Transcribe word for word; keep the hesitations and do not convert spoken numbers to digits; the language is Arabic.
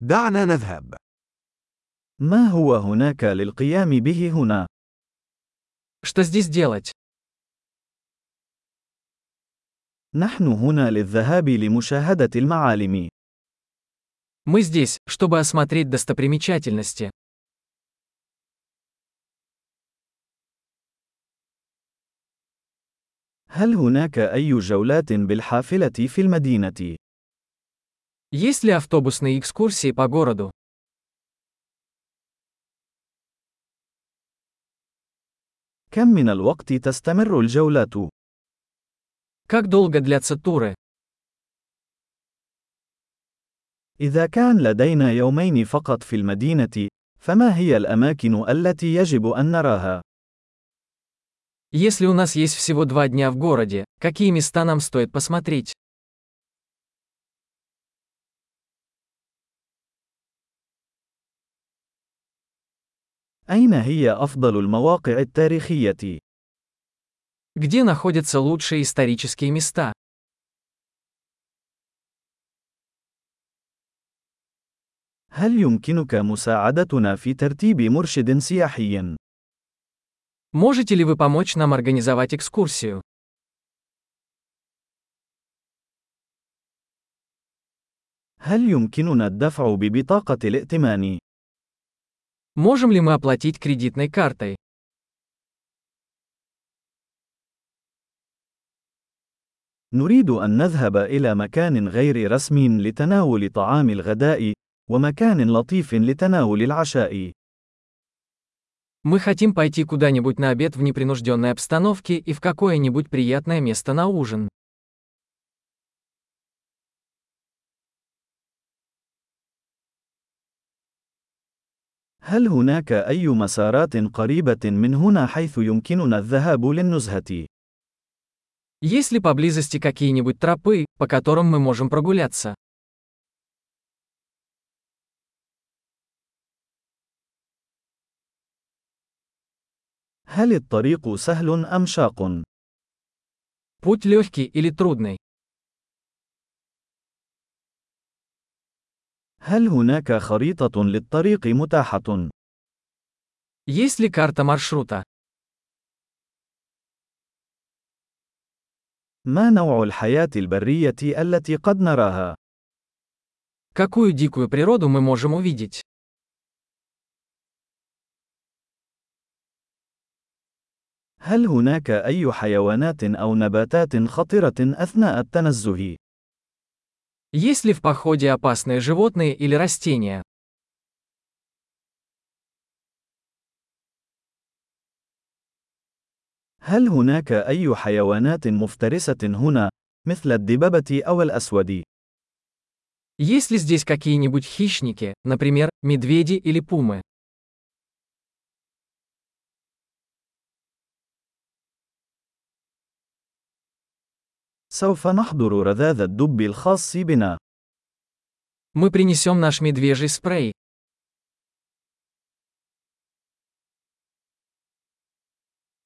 دعنا نذهب. ما هو هناك للقيام به هنا؟ Что здесь делать? نحن هنا للذهاب لمشاهدة المعالم. Мы здесь, чтобы осмотреть достопримечательности. هل هناك أي جولات بالحافلة في المدينة؟ Есть ли автобусные экскурсии по городу? كم من الوقت تستمر الجولات؟ Как долго длятся туры? إذا كان لدينا يومين فقط في المدينة، فما هي الأماكن التي يجب أن نراها؟ Если у нас есть всего два дня в городе, какие места нам стоит посмотреть? أين هي أفضل المواقع التاريخية؟ Где находятся лучшие исторические места? هل يمكنك مساعدتنا في ترتيب مرشد سياحي؟ Можете ли вы помочь нам организовать экскурсию? هل يمكننا الدفع ببطاقة الائتمان؟ Можем ли мы оплатить кредитной картой? نريد أن نذهب إلى مكان غير رسمي لتناول طعام الغداء، ومكان لطيف لتناول العشاء. Мы хотим пойти куда-нибудь на обед в непринужденной обстановке и в какое-нибудь приятное место на ужин. هل هناك أي مسارات قريبة من هنا حيث يمكننا الذهاب للنزهة؟ Есть ли поблизости какие-нибудь тропы, по которым мы можем прогуляться? هل الطريق سهل أم شاق؟ Путь легкий или трудный? هل هناك خريطة للطريق متاحة؟ Есть ли карта маршрута? ما نوع الحياة البرية التي قد نراها؟ Какую дикую природу мы можем увидеть? هل هناك أي حيوانات أو نباتات خطرة أثناء التنزه؟ Есть ли в походе опасные животные или растения? هل هناك أي حيوانات مفترسة هنا، مثل الدببة أو الأسود؟ Есть ли здесь какие-нибудь хищники, например, медведи или пумы? سوف نحضر رذاذ الدب الخاص بنا. Мы принесем наш медвежий спрей.